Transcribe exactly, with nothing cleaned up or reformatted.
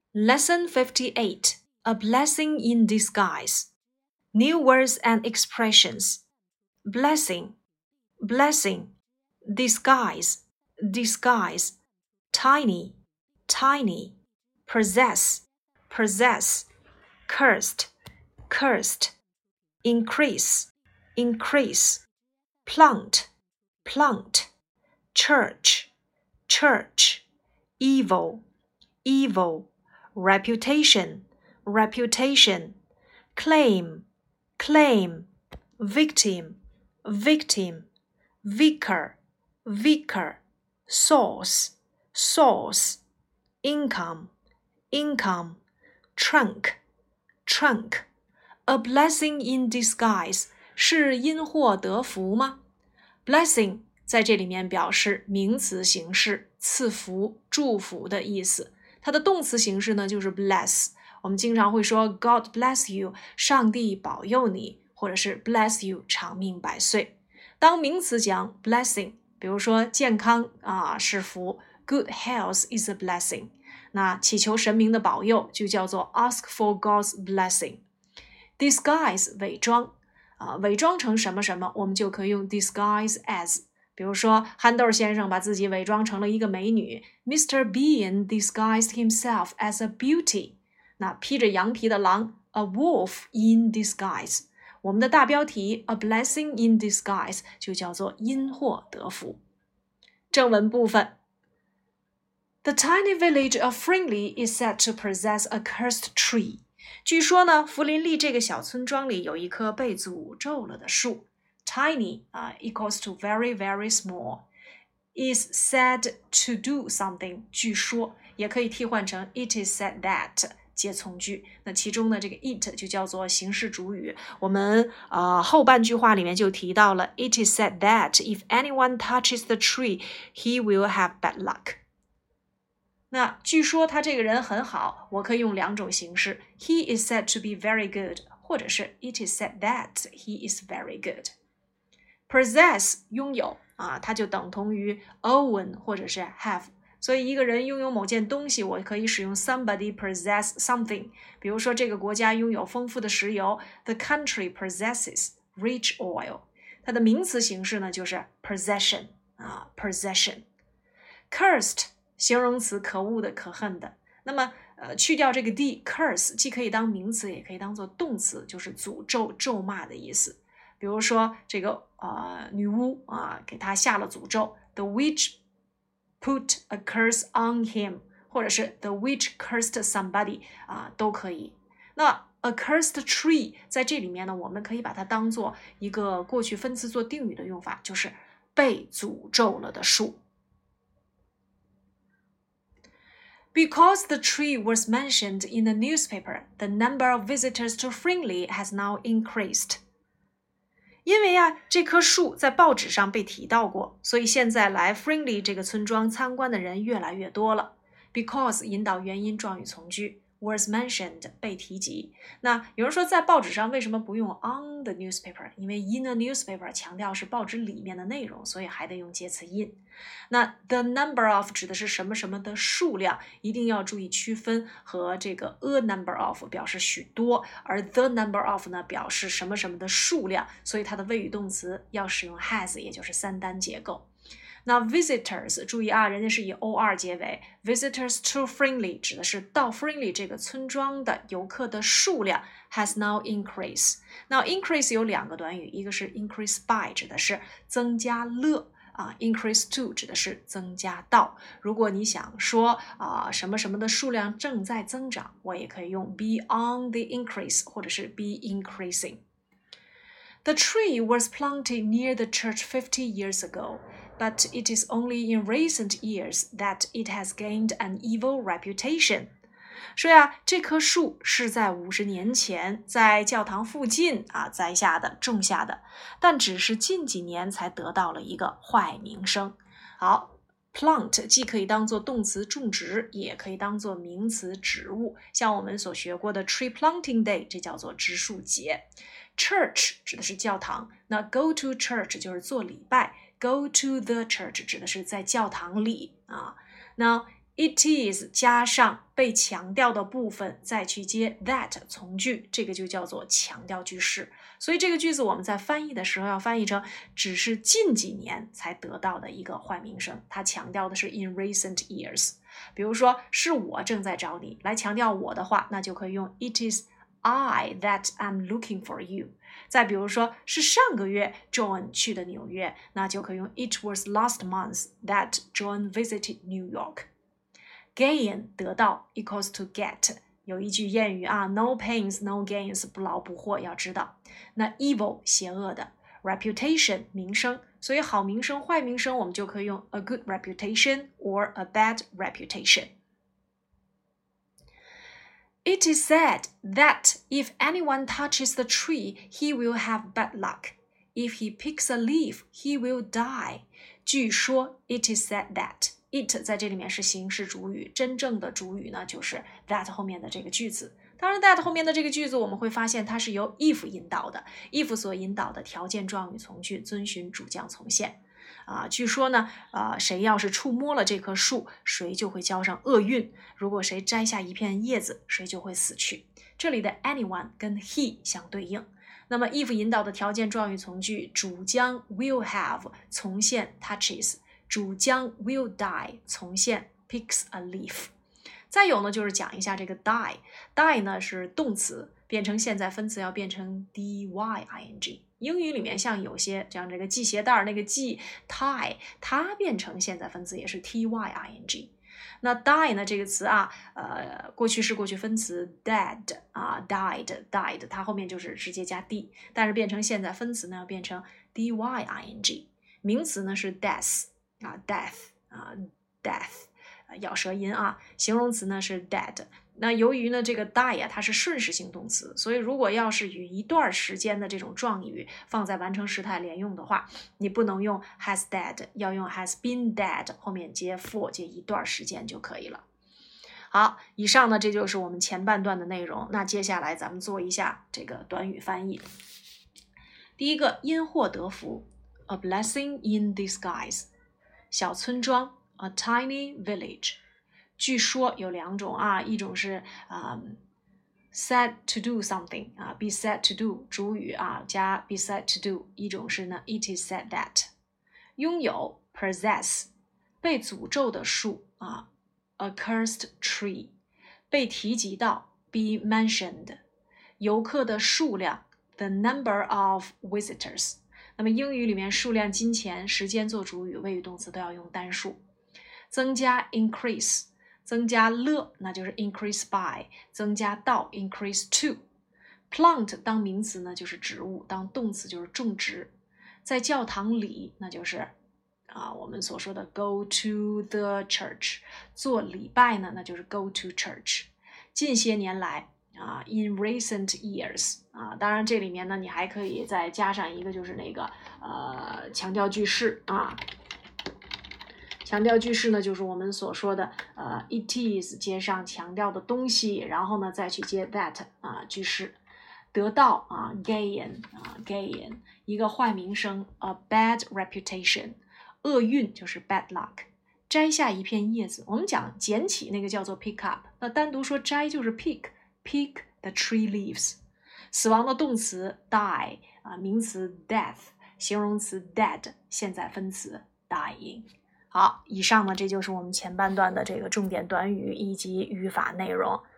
Lesson fifty-eight, A blessing in disguise. New words and expressions. Blessing, blessing, disguise, disguise, tiny, tiny, possess, possess, cursed, cursed, increase, increase, plant, plant, church, church, evil, evil, reputation, reputation, claim, claim, victim, victim, vicar, vicar, source, source, income, income, trunk, trunk. A blessing in disguise 是因祸得福吗？ Blessing 在这里面表示名词形式，赐福、祝福的意思。它的动词形式呢就是 bless， 我们经常会说 God bless you， 上帝保佑你，或者是 bless you， 长命百岁。当名词讲 blessing， 比如说健康啊是福， Good health is a blessing， 那祈求神明的保佑就叫做 ask for God's blessing。Disguise 伪装啊，伪装成什么什么，我们就可以用 disguise as。比如说憨豆先生把自己伪装成了一个美女 Mister Bean disguised himself as a beauty。 那披着羊皮的狼 A wolf in disguise。 我们的大标题 A blessing in disguise 就叫做因祸得福。正文部分 The tiny village of Fringley is said to possess a cursed tree。 据说呢，福林利这个小村庄里有一棵被诅咒了的树。Tiny uh, equals to very, very small. Is said to do something. 据说也可以替换成 It is said that 接从句。那其中呢，这个 it 就叫做形式主语。我们呃后半句话里面就提到了 It is said that if anyone touches the tree, he will have bad luck. 那据说他这个人很好，我可以用两种形式 He is said to be very good， 或者是 It is said that he is very good。Possess 拥有啊，它就等同于 own 或者是 have， 所以一个人拥有某件东西，我可以使用 somebody possess something。比如说这个国家拥有丰富的石油 The country possesses rich oil。 它的名词形式呢就是 possession 啊 possession。Cursed 形容词，可恶的、可恨的。那么呃，去掉这个 d curse 既可以当名词，也可以当做动词，就是诅咒、咒骂的意思。比如说这个呃女巫啊，给他下了诅咒 The witch put a curse on him， 或者是 The witch cursed somebody 啊，都可以。那 a cursed tree 在这里面呢，我们可以把它当做一个过去分词做定语的用法，就是被诅咒了的树。Because the tree was mentioned in the newspaper, the number of visitors to Fringley has now increased.因为呀，这棵树在报纸上被提到过，所以现在来 Fringley 这个村庄参观的人越来越多了。Because 引导原因状语从句 was mentioned 被提及。那有人说在报纸上为什么不用 on the newspaper？ 因为 in a newspaper 强调是报纸里面的内容，所以还得用介词 in。那 the number of 指的是什么什么的数量，一定要注意区分，和这个 a number of 表示许多，而 the number of 呢表示什么什么的数量，所以它的谓语动词要使用 has， 也就是三单结构。那 visitors 注意啊，人家是以 or 结尾 visitors to Fringley 指的是到 Fringley 这个村庄的游客的数量 has now increased。 那 increase 有两个短语，一个是 increase by 指的是增加了啊 increase to 指的是增加到。如果你想说啊什么什么的数量正在增长，我也可以用 be on the increase 或者是 be increasing。The tree was planted near the church fifty years ago, but it is only in recent years that it has gained an evil reputation. 说呀，这棵树是在五十年前在教堂附近啊栽下的、种下的，但只是近几年才得到了一个坏名声。好。Plant 既可以当作动词种植，也可以当作名词植物，像我们所学过的 Tree Planting Day， 这叫做植树节。Church 指的是教堂，那 go to church 就是做礼拜， go to the church 指的是在教堂里啊。那 it is 加上被强调的部分，再去接 that 从句，这个就叫做强调句式。所以这个句子我们在翻译的时候要翻译成只是近几年才得到的一个坏名声，它强调的是 in recent years。比如说是我正在找你，来强调我的话，那就可以用 it is I that am looking for you。再比如说是上个月 John 去的纽约，那就可以用 it was last month that John visited New York。Gain 得到 equals to get， 有一句谚语啊 no pains no gains， 不劳不获，要知道。那 evil 邪恶的， reputation 名声，所以好名声坏名声我们就可以用 a good reputation or a bad reputation。It is said that if anyone touches the tree, he will have bad luck. If he picks a leaf, he will die. 据说 it is said that it 在这里面是形式主语，真正的主语呢就是 that 后面的这个句子。当然 that 后面的这个句子我们会发现它是由 if 引导的， if 所引导的条件状语从句遵循主将从现。啊，据说呢，呃，谁要是触摸了这棵树，谁就会交上厄运；如果谁摘下一片叶子，谁就会死去。这里的 anyone 跟 he 相对应。那么 if 引导的条件状语从句，主将 will have 从现 touches， 主将 will die 从现 picks a leaf。再有呢，就是讲一下这个 die， die 呢是动词，变成现在分词要变成 d-y-i-n-g。英语里面像有些像这个系鞋带那个系 tie， 它变成现在分词也是 t-y-i-n-g。那 die 呢这个词啊，呃，过去式过去分词 dead 啊 died died， 它后面就是直接加 d， 但是变成现在分词呢要变成 d-y-i-n-g。名词呢是 death 啊 death 啊 death， 咬舌音啊。形容词呢是 dead。那由于呢这个 die 啊它是顺势性动词，所以如果要是与一段时间的这种状语放在完成时态连用的话，你不能用 has dead， 要用 has been dead， 后面接 for 接一段时间就可以了。好，以上呢这就是我们前半段的内容，那接下来咱们做一下这个短语翻译。第一个，因祸得福 a blessing in disguise， 小村庄 a tiny village。据说有两种啊，一种是、um, said to do something 啊 be said to do 主语啊加 be said to do， 一种是呢 it is said that。拥有 possess， 被诅咒的树啊 a cursed tree， 被提及到 be mentioned， 游客的数量 the number of visitors。 那么英语里面数量、金钱、时间做主语，谓语动词都要用单数。增加 increase，增加了那就是 increase by， 增加到 increase to。 plant 当名词呢就是植物，当动词就是种植。在教堂里那就是啊我们所说的 go to the church， 做礼拜呢那就是 go to church。 近些年来啊 in recent years 啊，当然这里面呢你还可以再加上一个就是那个呃强调句式啊。强调句式呢就是我们所说的呃 it is 接上强调的东西，然后呢再去接 that 啊句式。得到啊 gain 啊 gain， 一个坏名声 a bad reputation， 厄运就是 bad luck。 摘下一片叶子，我们讲捡起那个叫做 pick up， 那单独说摘就是 pick pick the tree leaves。 死亡的动词 die 啊，名词 death， 形容词 dead， 现在分词 dying。好，以上呢，这就是我们前半段的这个重点短语以及语法内容。